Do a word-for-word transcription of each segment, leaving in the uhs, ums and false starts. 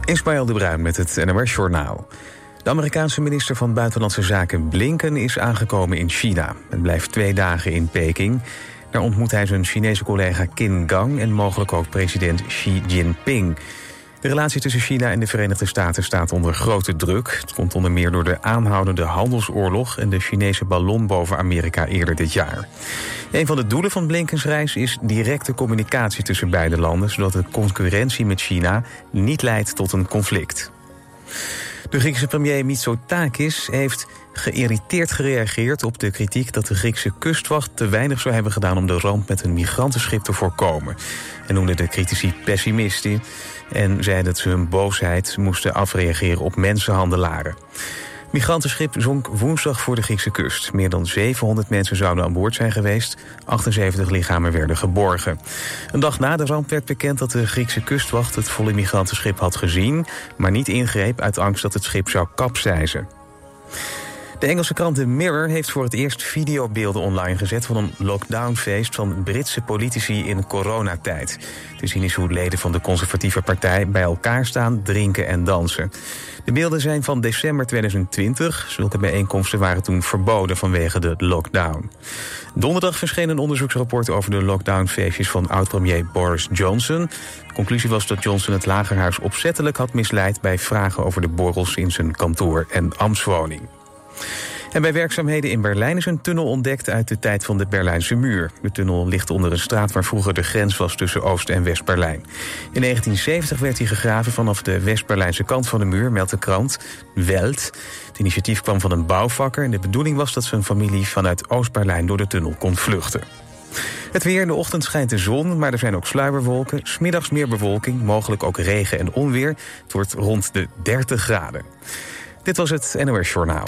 Ismaël de Bruin met het N O S-journaal. De Amerikaanse minister van Buitenlandse Zaken Blinken is aangekomen in China. Het blijft twee dagen in Peking. Daar ontmoet hij zijn Chinese collega Qin Gang en mogelijk ook president Xi Jinping. De relatie tussen China en de Verenigde Staten staat onder grote druk. Het komt onder meer door de aanhoudende handelsoorlog en de Chinese ballon boven Amerika eerder dit jaar. Een van de doelen van Blinkens reis is directe communicatie tussen beide landen, zodat de concurrentie met China niet leidt tot een conflict. De Griekse premier Mitsotakis heeft geïrriteerd gereageerd op de kritiek dat de Griekse kustwacht te weinig zou hebben gedaan om de ramp met een migrantenschip te voorkomen. Hij noemde de critici pessimisten en zei dat ze hun boosheid moesten afreageren op mensenhandelaren. Het migrantenschip zonk woensdag voor de Griekse kust. Meer dan zevenhonderd mensen zouden aan boord zijn geweest. achtenzeventig lichamen werden geborgen. Een dag na de ramp werd bekend dat de Griekse kustwacht het volle migrantenschip had gezien, maar niet ingreep uit angst dat het schip zou kapseizen. De Engelse krant The Mirror heeft voor het eerst videobeelden online gezet van een lockdownfeest van Britse politici in coronatijd. Te zien is hoe leden van de conservatieve partij bij elkaar staan, drinken en dansen. De beelden zijn van december tweeduizend twintig. Zulke bijeenkomsten waren toen verboden vanwege de lockdown. Donderdag verscheen een onderzoeksrapport over de lockdownfeestjes van oud-premier Boris Johnson. De conclusie was dat Johnson het Lagerhuis opzettelijk had misleid bij vragen over de borrels in zijn kantoor en ambtswoning. En bij werkzaamheden in Berlijn is een tunnel ontdekt uit de tijd van de Berlijnse muur. De tunnel ligt onder een straat waar vroeger de grens was tussen Oost- en West-Berlijn. In negentien zeventig werd hij gegraven vanaf de West-Berlijnse kant van de muur, meldt de krant Welt. Het initiatief kwam van een bouwvakker en de bedoeling was dat zijn familie vanuit Oost-Berlijn door de tunnel kon vluchten. Het weer: in de ochtend schijnt de zon, maar er zijn ook sluierwolken. 's Middags meer bewolking, mogelijk ook regen en onweer. Het wordt rond de dertig graden. Dit was het N O S-journaal.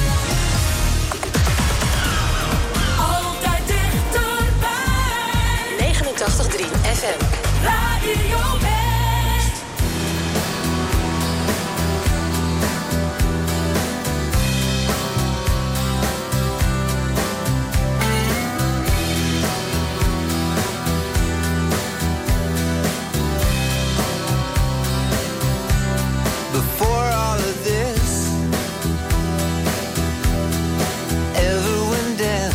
Altijd dichterbij. negenentachtig komma drie F M. Radio West. Before all of this ever went down,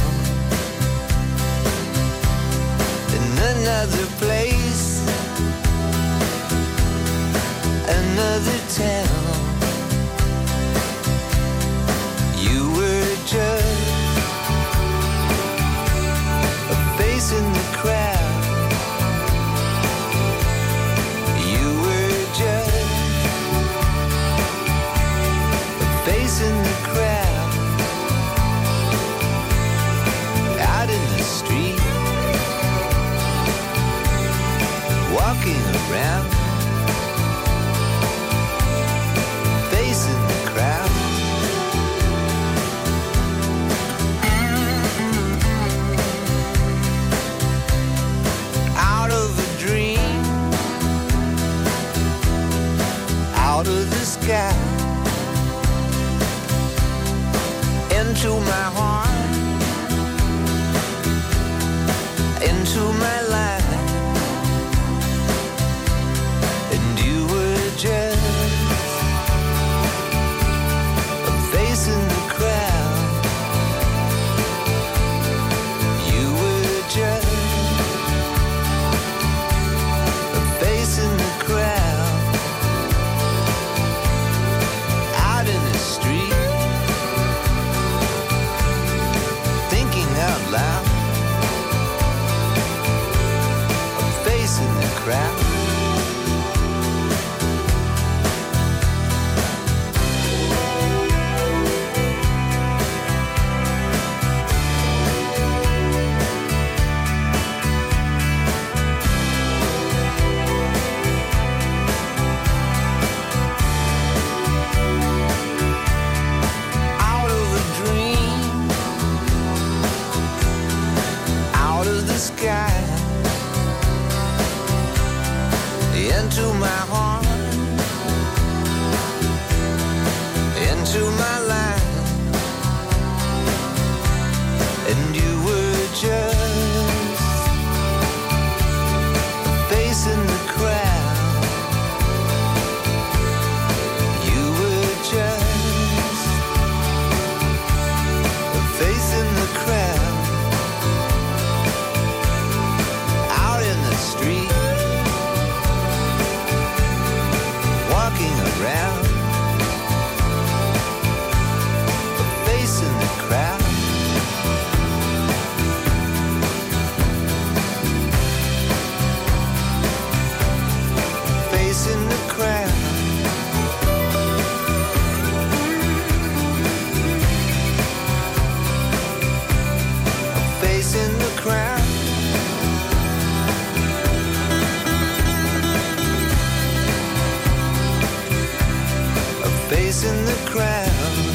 in another place, another town, you were just a face in the crowd. You were just face in the crowd, out in the street, walking around, face in the crowd. Out of a dream, out of the sky, into my heart, into my life, and you were just a face in the crowd. You were just a face in the crowd, out in the street, thinking out loud, facing the crowd.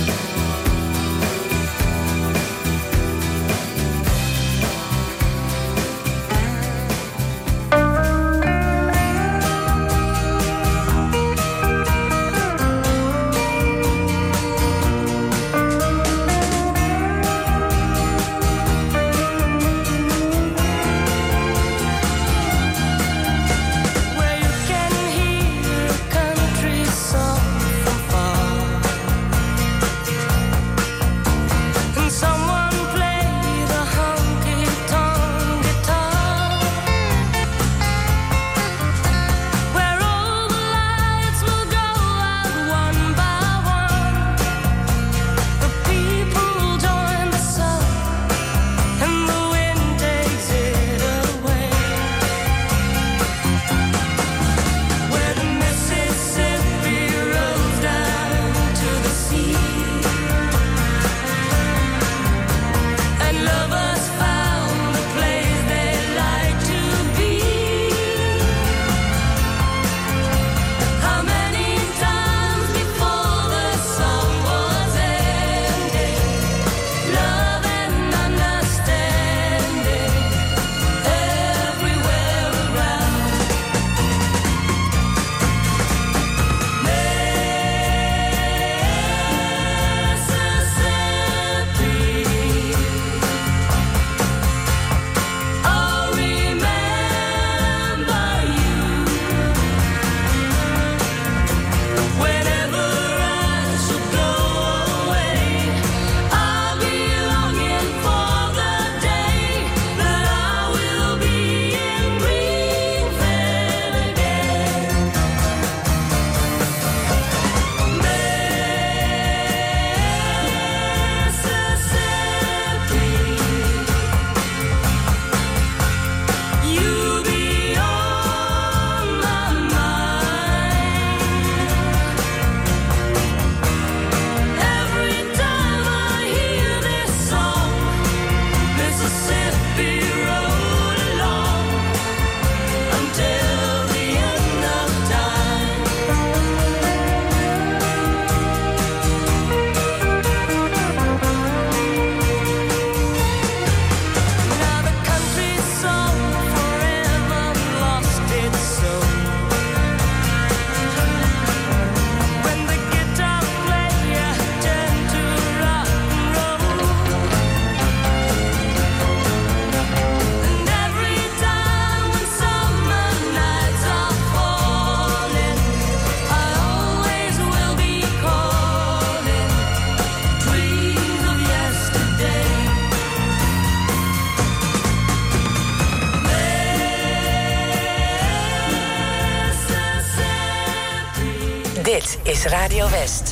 Dit is Radio West.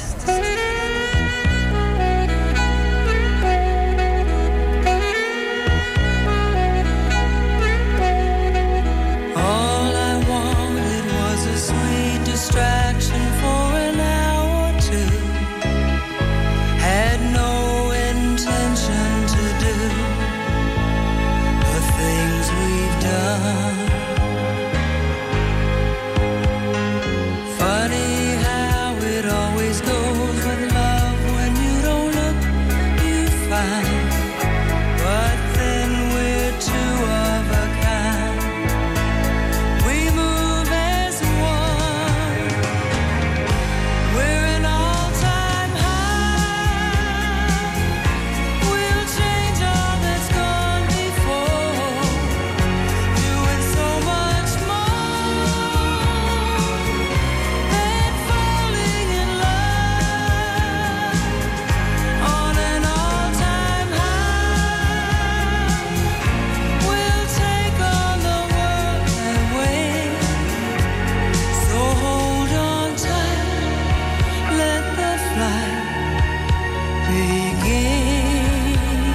All I wanted was a sweet distraction for an hour or two. Had no intention to do the things we've done. Funny how it always goes with love. When you don't look, you find. But then we're two of a kind. We move as one. We're an all-time high. We'll change all that's gone before, doing so much more than falling in love on an all-time high. We'll take on the world and win. So hold on tight, let the flight begin.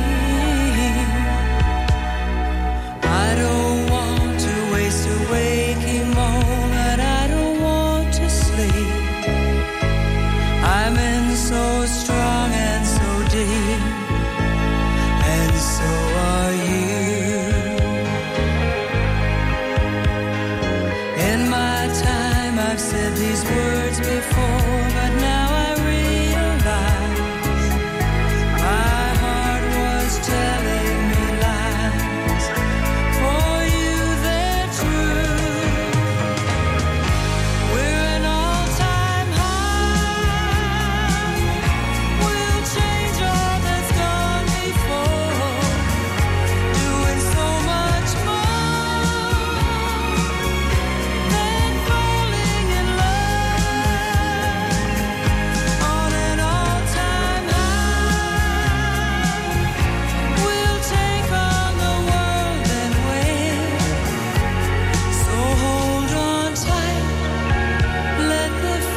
I don't want to waste a waking moment. I don't want to sleep. I'm in so strong and so deep, and so are you. In my time, I've said these words before, but now I realize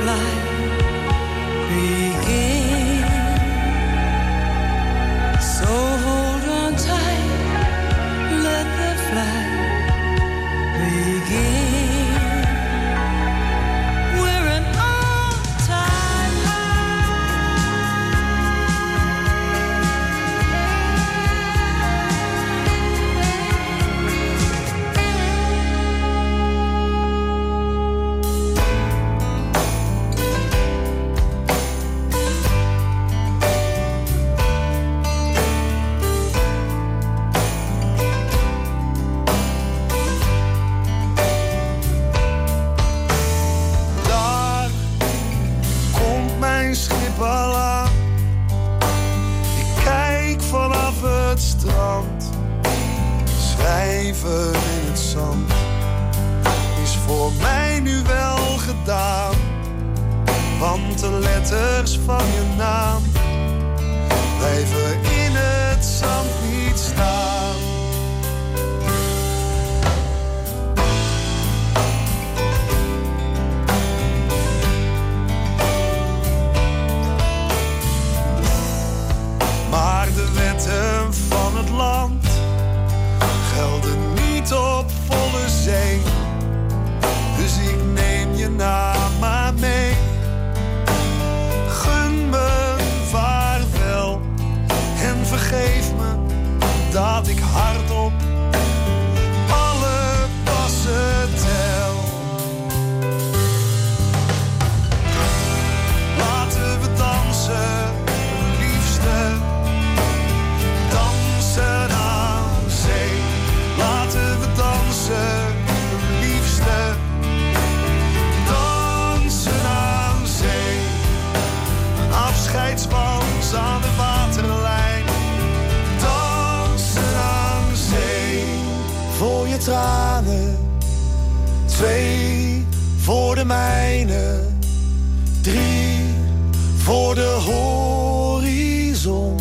flight begin. So hold on tight, let the flight begin. We're an all-time Daar komt mijn schip al aan. Ik kijk vanaf het strand. Schrijven in het zand is voor mij nu wel gedaan. Want de letters van je naam blijven in het zand niet staan. Maar de wetten van het land gelden niet op volle zee. Dus ik neem je naam maar mee. Gun me vaarwel en vergeef me dat ik hardop alle passen tel. Laten we dansen, liefste. Dansen aan zee. Laten we dansen, liefste. Dansen aan zee. Een afscheidswals aan de waterlijn. Dansen aan zee. Voor je tranen. Twee voor de mijne. Drie voor de horizon.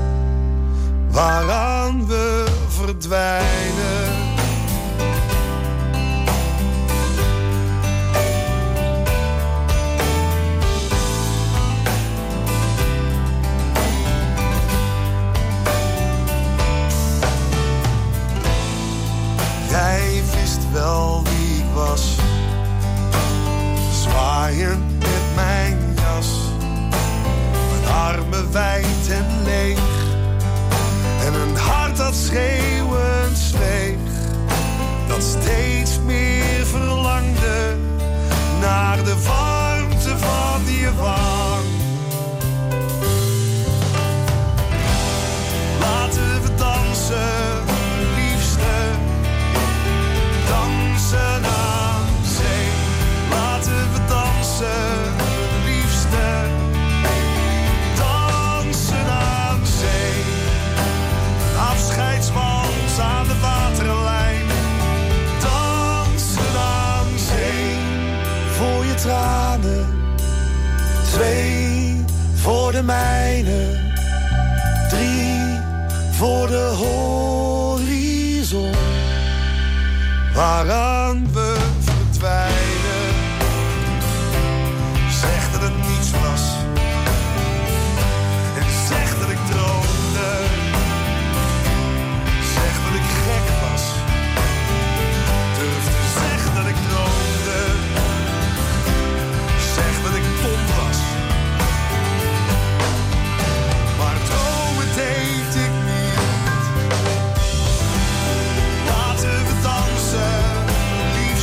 Waaraan we verdwijnen. Jij wist wel wie ik was. Zwaaiend met mijn jas. Mijn armen wijd en leeg. En een hart dat schreeuwend zweeg. Dat steeds meer verlangde naar de warmte van je wang. Laten we dansen, liefste. Dansen aan zee. Laten we dansen, liefste. Dansen aan zee. Afscheidswals aan de waterlijn. Dansen aan zee. Voor je tranen. Twee voor de mijne. Drie voor de horizon. Waaraan we verdwijnen. Zeg dat het niets was. En zeg dat ik droomde. Zeg dat ik gek was. Durf te zeggen dat ik droomde. Zeg dat ik dom was. Maar dromen deed ik niet. Laten we dansen, liefste.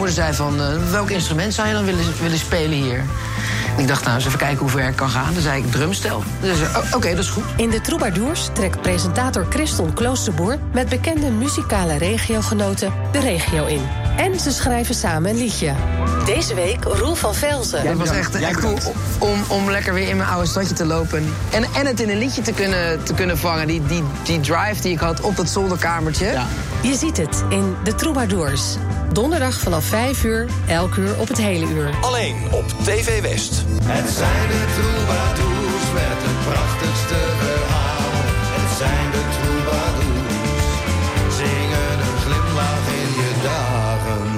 moeder zei van, uh, welk instrument zou je dan willen, willen spelen hier? Ik dacht, nou, eens even kijken hoe ver ik kan gaan. Dan zei ik, drumstel. Dus uh, oké, okay, dat is goed. In de Troubadours trekt presentator Christon Kloosterboer met bekende muzikale regiogenoten de regio in. En ze schrijven samen een liedje. Deze week Roel van Velzen. Ja, het was echt, echt cool om, om lekker weer in mijn oude stadje te lopen. En, en het in een liedje te kunnen, te kunnen vangen. Die, die, die drive die ik had op dat zolderkamertje. Ja. Je ziet het in de Troubadours. Donderdag vanaf vijf uur, elk uur op het hele uur. Alleen op T V West. Het zijn de Troubadours met het prachtigste verhaal. Het zijn de Troubadours. Zingen een glimlach in je dagen.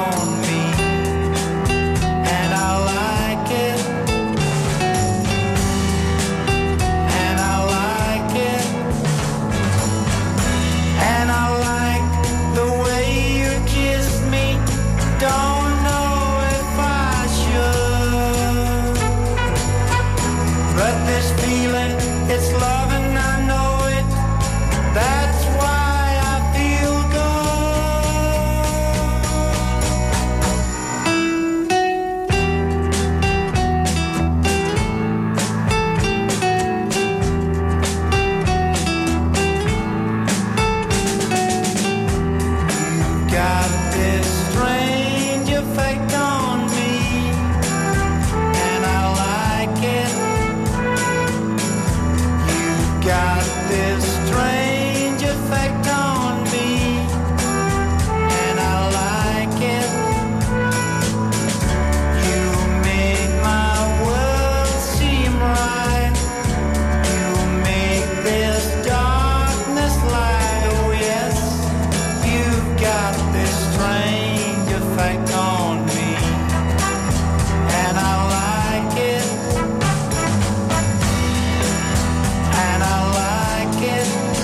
on me, and I like it, and I like it, and I like the way you kiss me. Don't know if I should, but this feeling, it's love and I know it. That's why I feel got this strange effect on me, and I like it. You got this strange effect on me, and I like it. You make my world seem right. You make this darkness light. Oh yes. You've got this strange effect on me, and I like it, and I like it.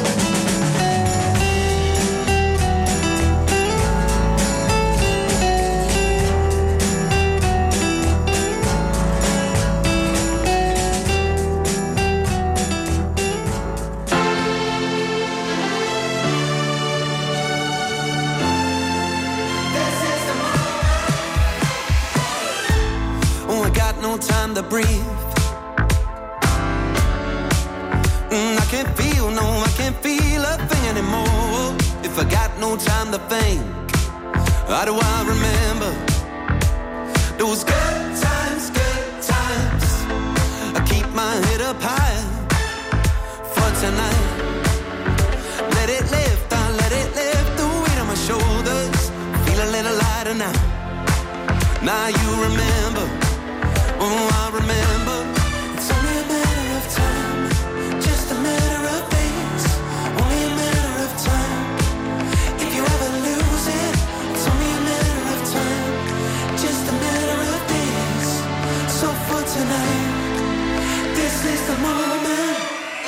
Oh, I got no time to breathe. Mm, I can't feel, no, I can't feel a thing anymore. If I got no time to think, how do I remember those good times, good times? I keep my head up high for tonight. Let it lift, I let it lift the weight on my shoulders. Feel a little lighter now. Now you remember, oh I remember. It's only a matter of time, just a matter of days. Only a matter of time. If you ever lose it, it's only a matter of time, just a matter of days. So for tonight, this is the moment.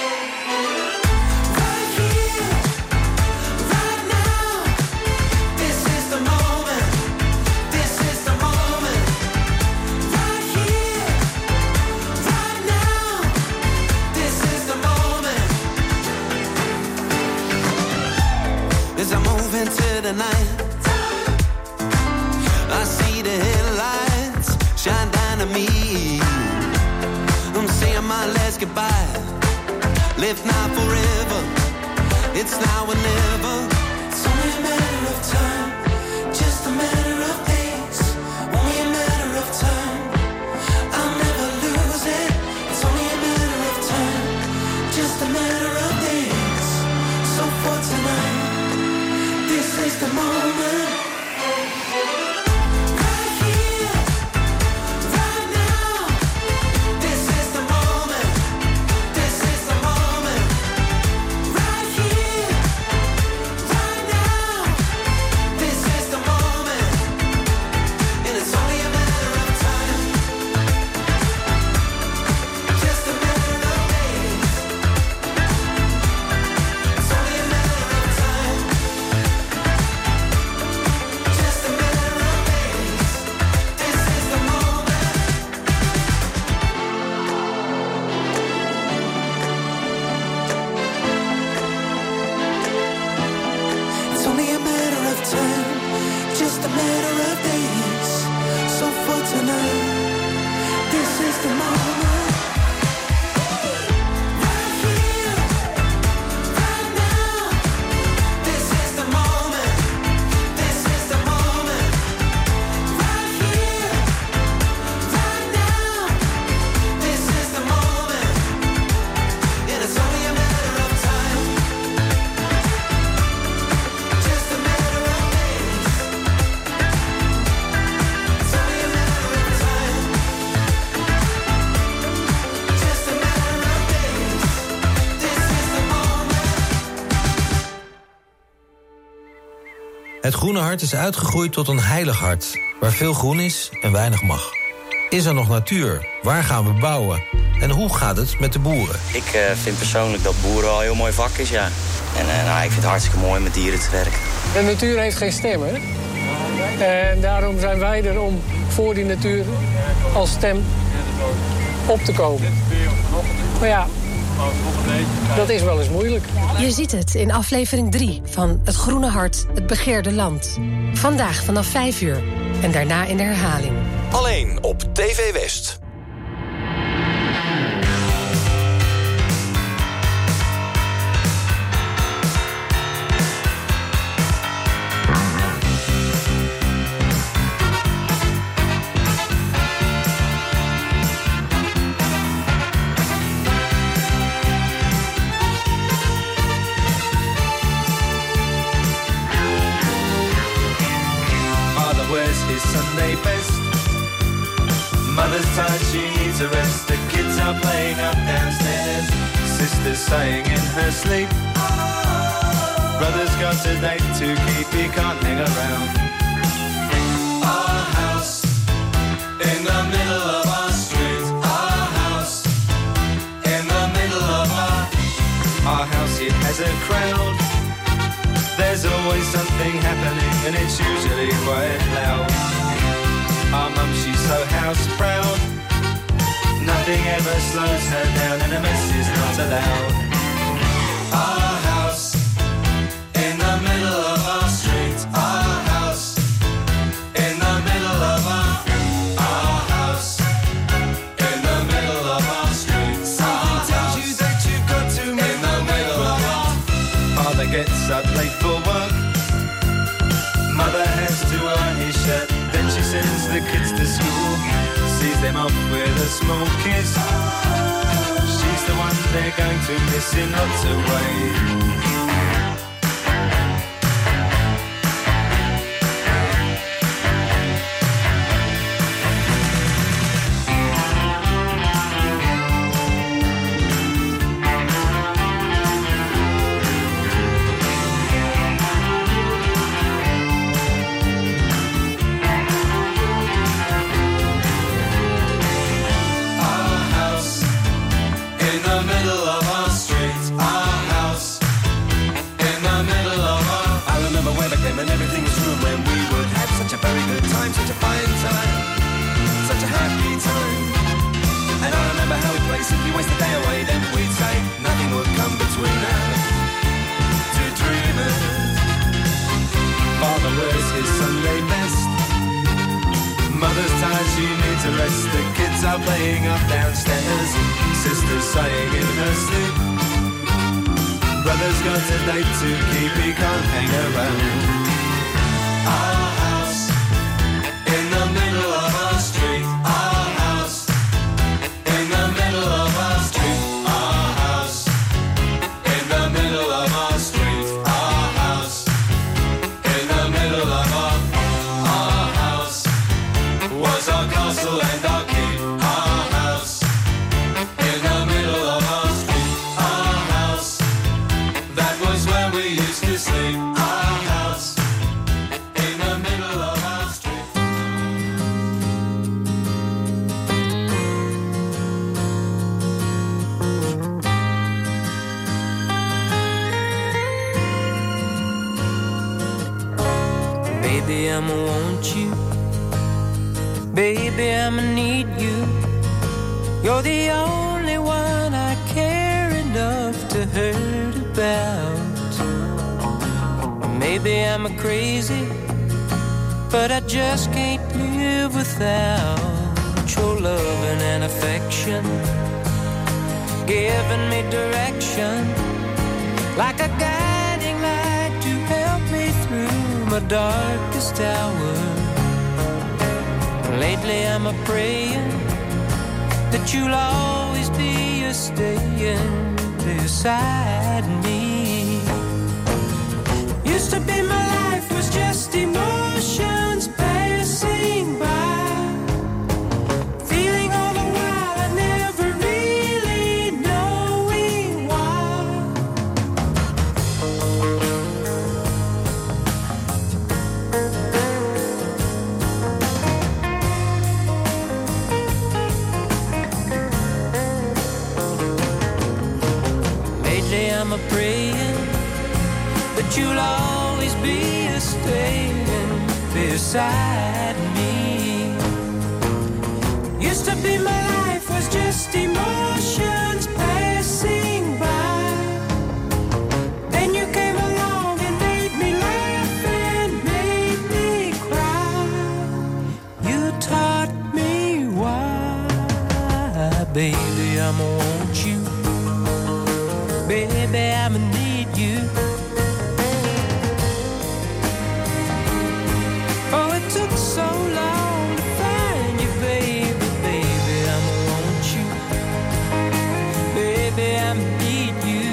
Right here, right now. This is the moment. This is the moment. Right here, right now. This is the moment. As I move into the night, I see the headlights shine down on me. I'm saying my last goodbye. Live now forever. It's now or never. It's only a matter of time, just a matter of days. Only a matter of time. I'll never lose it. It's only a matter of time, just a matter of days. So for tonight, this is the moment. Right here, right now. This is the moment. This is the moment. Right here, right Het groene hart is uitgegroeid tot een heilig hart, waar veel groen is en weinig mag. Is er nog natuur? Waar gaan we bouwen? En hoe gaat het met de boeren? Ik uh, vind persoonlijk dat boeren al een heel mooi vak is, ja. En uh, nou, ik vind het hartstikke mooi met dieren te werken. De natuur heeft geen stem, hè? En daarom zijn wij er om voor die natuur als stem op te komen. Maar ja, dat is wel eens moeilijk. Je ziet het in aflevering drie van Het Groene Hart, het begeerde land. Vandaag vanaf vijf uur en daarna in de herhaling. Alleen op T V West. Sunday best. Mother's tired, she needs a rest. The kids are playing up downstairs. Sister's sighing in her sleep. Brother's got a date to keep, he can't hang around. Our house in the middle of our street. Our house in the middle of our Our house, it has a crowd. There's always something happening and it's usually quite loud. Our mum, she's so house proud. Nothing ever slows her down and a mess is not allowed. Our house in the middle of our street. Our house in the middle of our Our house in the middle of our street. Something tells you that you've got to make in the middle of our Father gets up late for work. Mother has to earn his shirt. Then she sends the kids to school, sees them off with a small kiss. She's the one they're going to miss in lots of ways. And everything was room when we would have such a very good time, such a fine time, such a happy time. And I remember how we played simply waste the day away. Then we'd say nothing would come between us, two dreamers. Father wears his Sunday best. Mother's tired, she needs a rest. The kids are playing up downstairs. Sister's sighing in her sleep. Brother's got a date to keep, he can't hang around. Our house in the middle of our street. Our house in the middle of our street. Our house in the middle of our street. Our house in the middle of our Our house was our castle and our keep. Our house in the middle of our street. Our house, that was where we used to sleep. Our house in the middle of our street. Baby, I'ma want you. Baby, I'ma need you. You're the only one I care enough to hurt about. Maybe I'm a crazy, but I just can't live without your loving and affection, giving me direction, like a guiding light to help me through my darkest hour. Lately I'm a praying that you'll always be a staying beside me. Used to be my life was just emotions passing by, feeling all the while I never really knowing why. you'll always be a staying beside me. Used to be my life was just emotions passing by. Then you came along and made me laugh and made me cry. You taught me why, baby, I'ma want you. Baby, I'ma need you. Oh, it took so long to find you, baby, baby, I'ma want you. Baby, I'ma need you.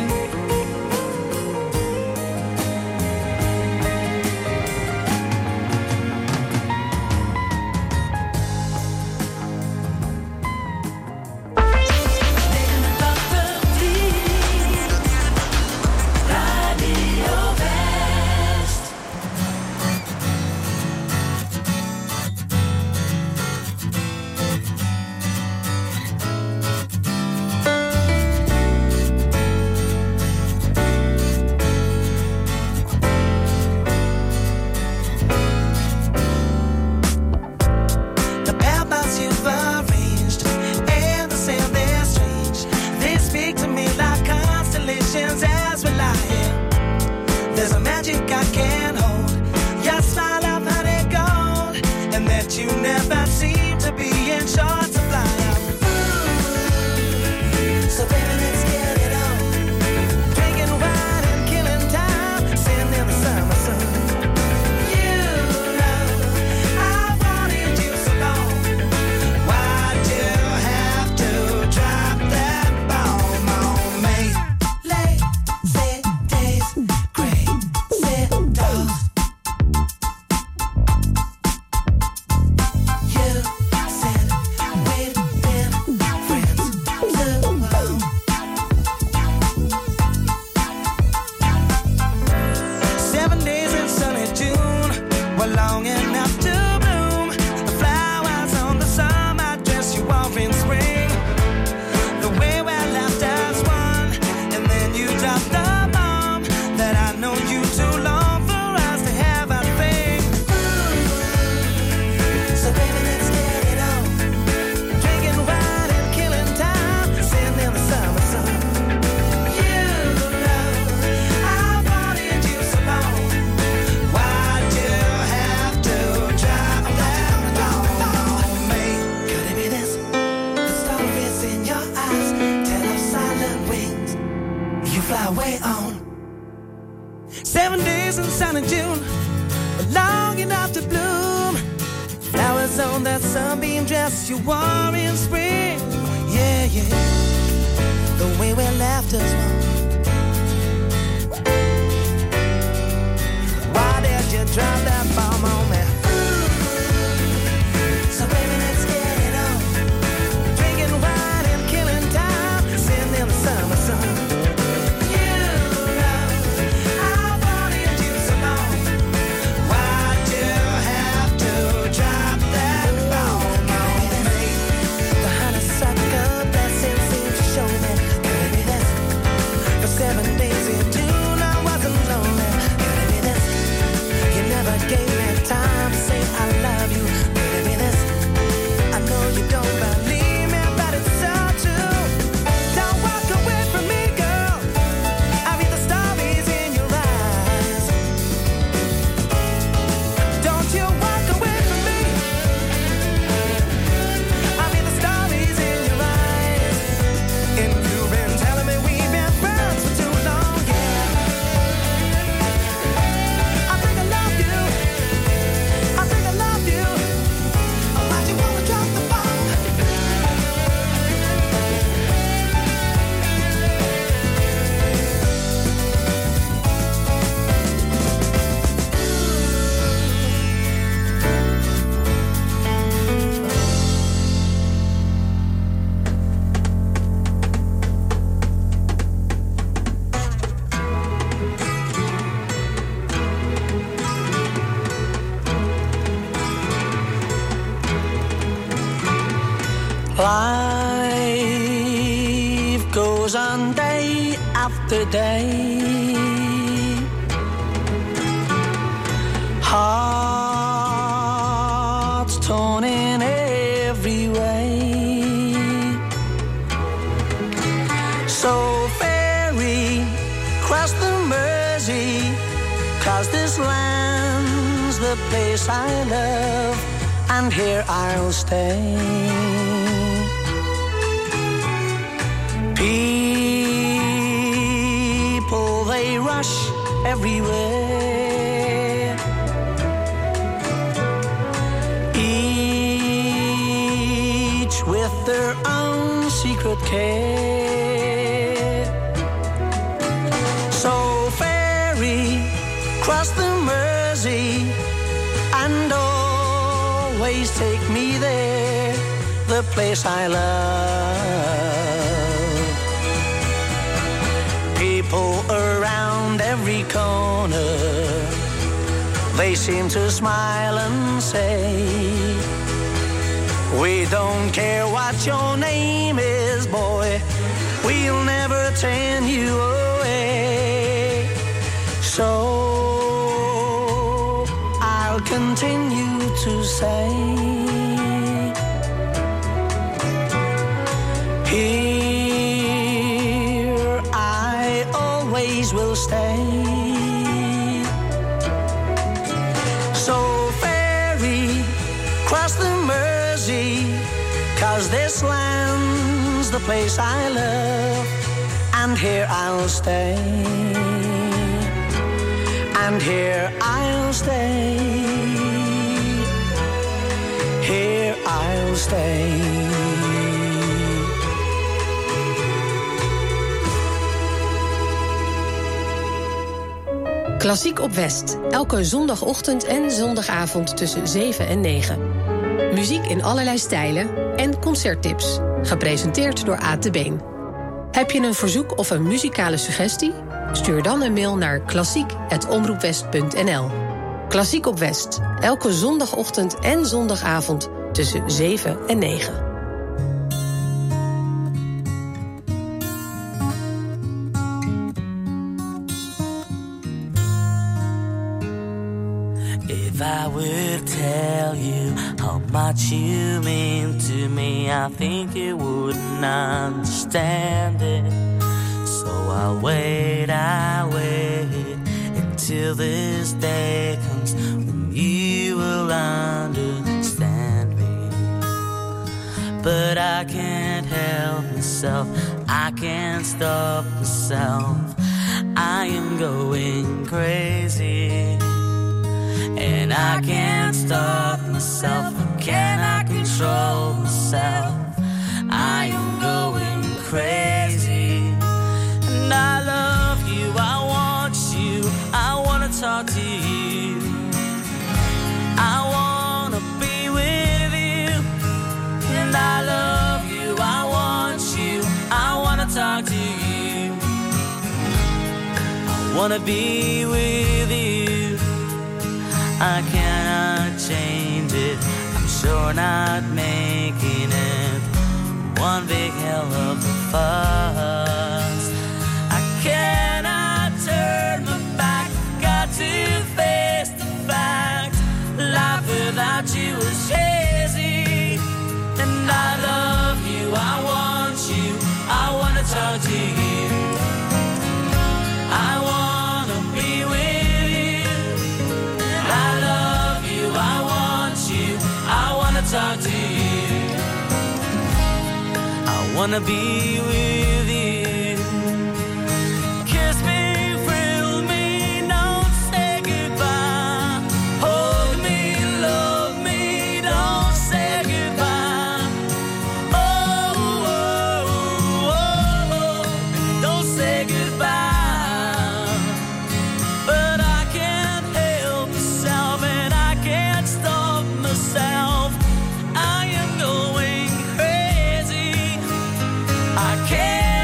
Life goes on day after day. hearts torn in every way. So ferry, cross the Mersey, 'cause this land's the place I love, and here I'll stay. People, they rush everywhere, each with their own secret care. So ferry, cross the Mersey, and always take me there, the place I love. People around every corner, they seem to smile and say, we don't care what your name is, boy, we'll never turn you away. So I'll continue to say, here I always will stay. So ferry, cross the Mersey, 'cause this land's the place I love, and here I'll stay. And here I'll stay. Here I'll stay. Klassiek op West. Elke zondagochtend en zondagavond tussen zeven en negen. Muziek in allerlei stijlen en concerttips. Gepresenteerd door Aad de Been. Heb je een verzoek of een muzikale suggestie? Stuur dan een mail naar klassiek apenstaartje omroepwest punt n l. Klassiek op West. Elke zondagochtend en zondagavond tussen zeven en negen. If I would tell you how much you mean to me, I think you wouldn't understand it. So I'll wait, I'll wait until this day comes when you will understand me. But I can't help myself, I can't stop myself, I am going crazy. And I can't stop myself, can I control myself? I am going crazy. And I love you, I want you, I wanna talk to you, I wanna be with you. And I love you, I want you, I wanna talk to you, I wanna be with you. I cannot change it, I'm sure not making it one big hell of a fuss. I cannot turn my back, got to face the fact, life without you is hazy. And I love you, I want you, I wanna talk to you, I wanna be with you. Talk to you, I wanna be with you. Kiss me, thrill me, don't say goodbye. Hold me, love me, don't say goodbye. Oh, oh, oh, oh, don't say goodbye. But I can't help myself and I can't stop myself. I am going crazy. I can't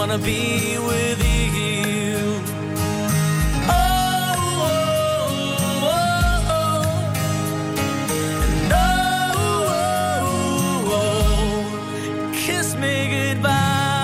wanna be with you. Oh, oh, oh, oh. And oh, oh, oh, kiss me goodbye.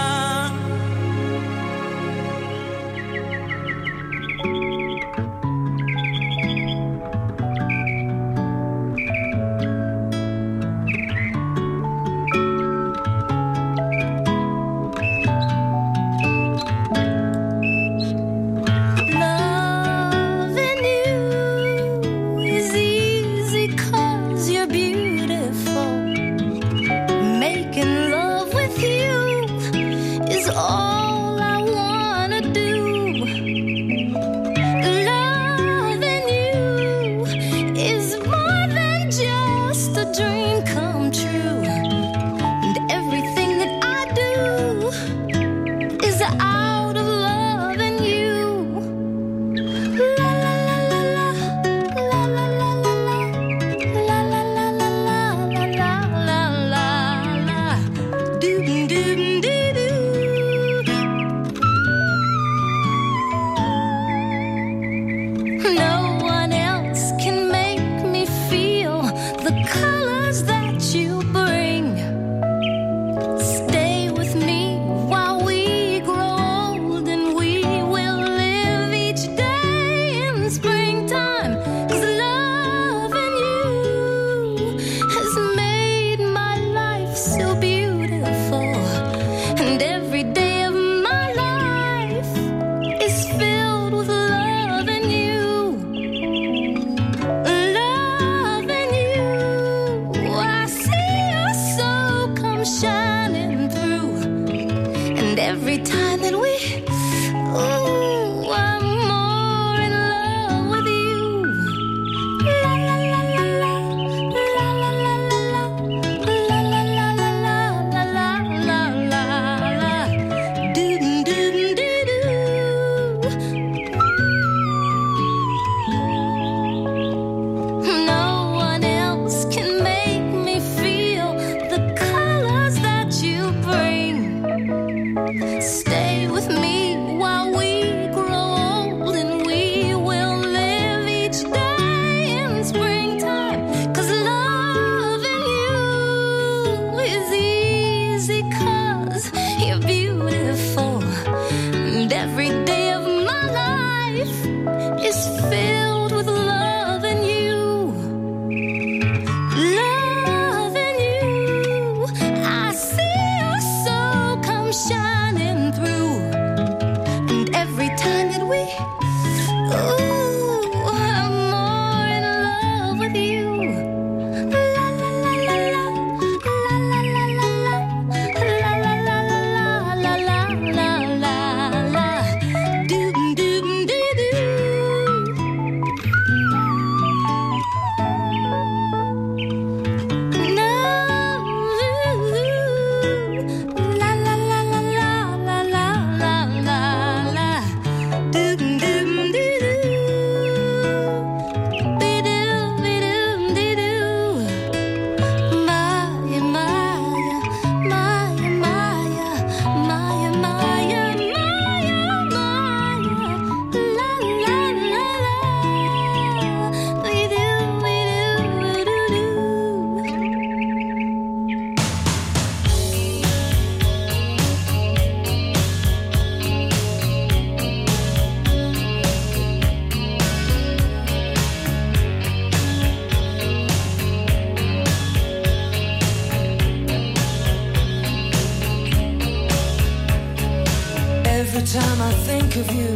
Every time I think of you,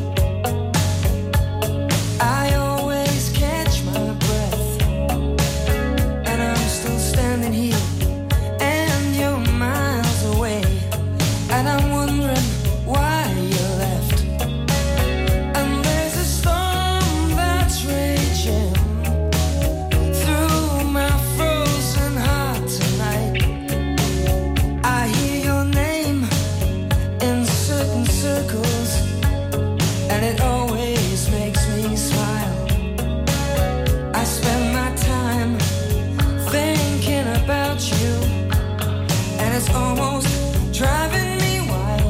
I always catch my breath, and I'm still standing here, and you're miles away, and I'm wondering why you left. And there's a storm that's raging through my frozen heart tonight. I hear your name in certain circles, and it always makes me smile. I spend my time thinking about you, and it's almost driving me wild.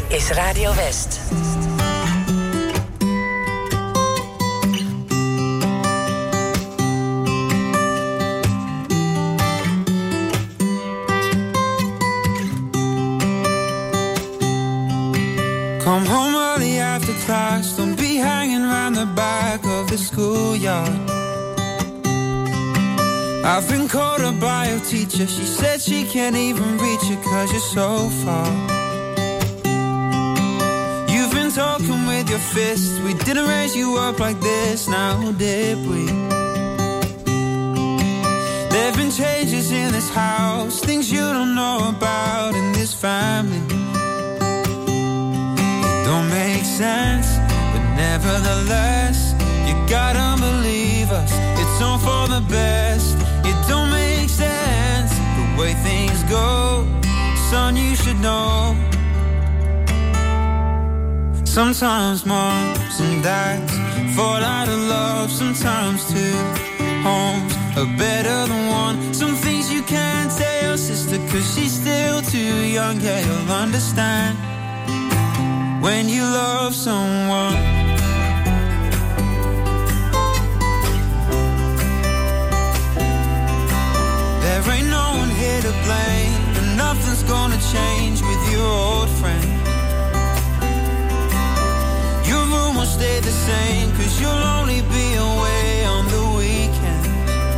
is Radio West. Come home early after class, don't be hanging around the back of the schoolyard. I've been called up by a teacher, she said she can't even reach you cause you're so far. You've been talking with your fists, we didn't raise you up like this, now did we? There've been changes in this house, things you don't know about in this family. Don't make sense, but nevertheless, you gotta believe us, it's all for the best. It don't make sense, the way things go, son, you should know. Sometimes moms and dads fall out of love, sometimes two homes are better than one. Some things you can't tell your sister cause she's still too young, yeah, you'll understand when you love someone. There ain't no one here to blame, and nothing's gonna change with your old friend. Your room will stay the same cause you'll only be away on the weekend.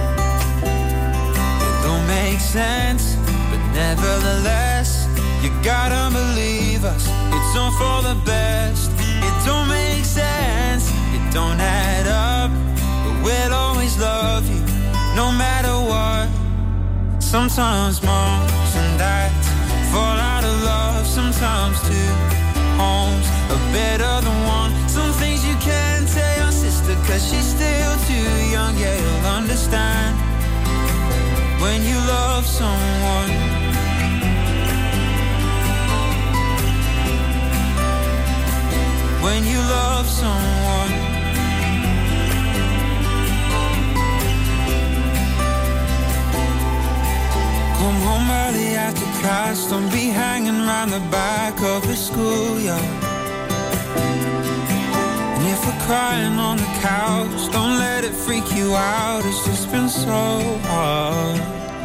It don't make sense, but nevertheless, you gotta believe us, it's all for the best. It don't make sense, it don't add up, but we'll always love you, no matter what. Sometimes moms and dads fall out of love, sometimes two homes are better than one. Some things you can't tell your sister cause she's still too young, yeah, you'll understand when you love someone. When you love someone. Come home early after class, don't be hanging around the back of the schoolyard. And if we're crying on the couch, don't let it freak you out, it's just been so hard.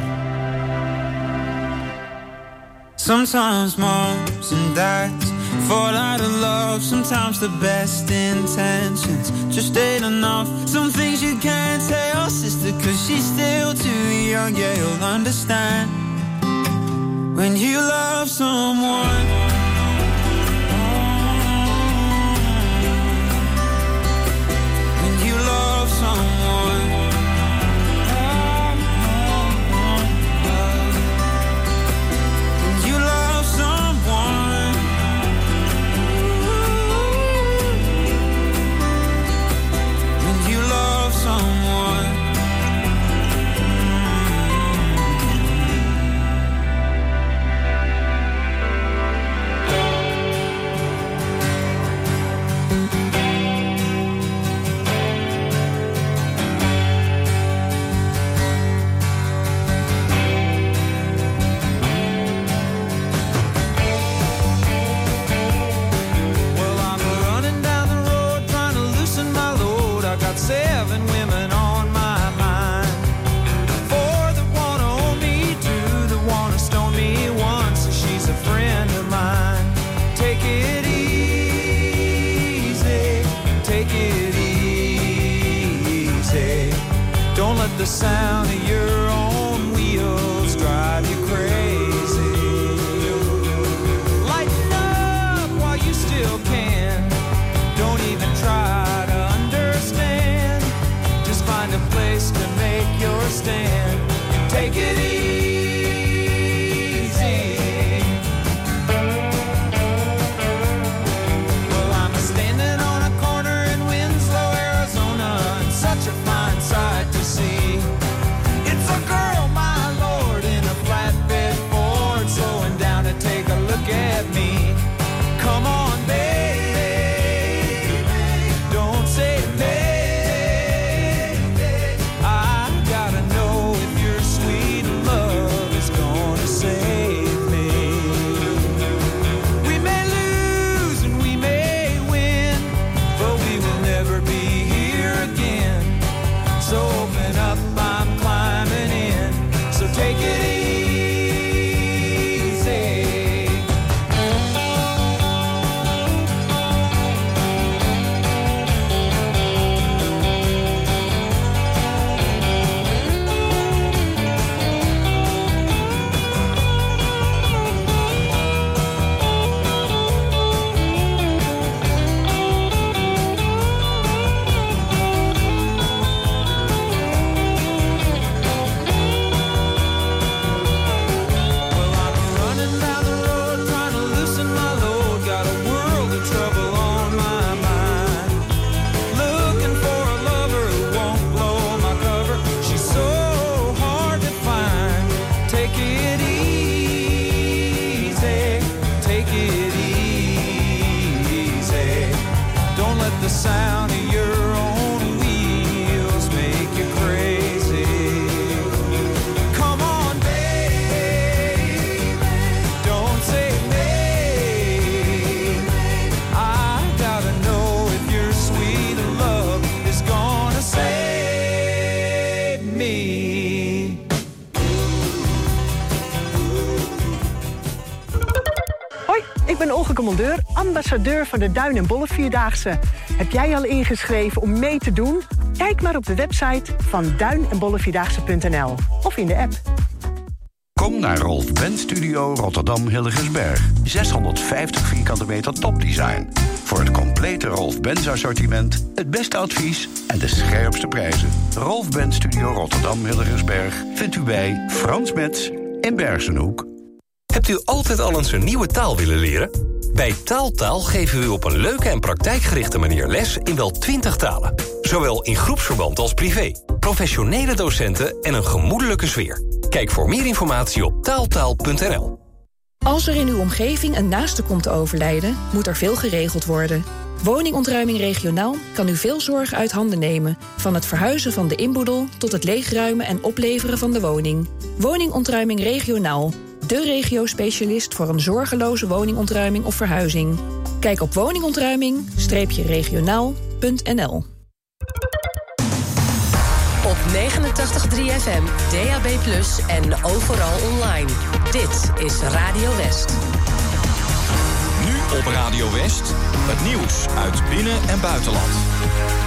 Sometimes moms and dads fall out of love, sometimes the best intentions just ain't enough. Some things you can't tell your sister cause she's still too young, yeah, you'll understand when you love someone. When you love someone. When you love someone. When you love someone. Seven women on my mind. Four that wanna own me, two that wanna stone me, one so she's a friend of mine. Take it easy, take it easy. Don't let the sound of your own wheels drive you crazy. Lighten up while you still can. Don't even try to find a place to make your stand and take it easy. Well, I'm standing on a corner in Winslow, Arizona, and such a fine sight to see. It's a girl, my lord, in a flatbed going up, I'm climbing in. So take it easy. The sound of your own wheels make you crazy. Come on, baby, don't say maybe. I gotta know if your sweet love is gonna save me. Hoi, ik ben Olga Commandeur, ambassadeur van de Duin en Bolle Vierdaagse. Heb jij al ingeschreven om mee te doen? Kijk maar op de website van duin en bolle vierdaagse punt n l of in de app. Kom naar Rolf Benz Studio Rotterdam Hillegersberg. zeshonderdvijftig vierkante meter topdesign. Voor het complete Rolf Benz assortiment, het beste advies en de scherpste prijzen. Rolf Benz Studio Rotterdam Hillegersberg vindt u bij Frans Metz in Bergenhoek. Hebt u altijd al eens een nieuwe taal willen leren? Bij Taaltaal geven we u op een leuke en praktijkgerichte manier les in wel twintig talen. Zowel in groepsverband als privé. Professionele docenten en een gemoedelijke sfeer. Kijk voor meer informatie op taaltaal punt n l. Als er in uw omgeving een naaste komt te overlijden, moet er veel geregeld worden. Woningontruiming regionaal kan u veel zorg uit handen nemen. Van het verhuizen van de inboedel tot het leegruimen en opleveren van de woning. Woningontruiming regionaal. De regio-specialist voor een zorgeloze woningontruiming of verhuizing. Kijk op woningontruiming regionaal punt n l. Op negenentachtig komma drie F M, D A B plus, en overal online. Dit is Radio West. Nu op Radio West, het nieuws uit binnen- en buitenland.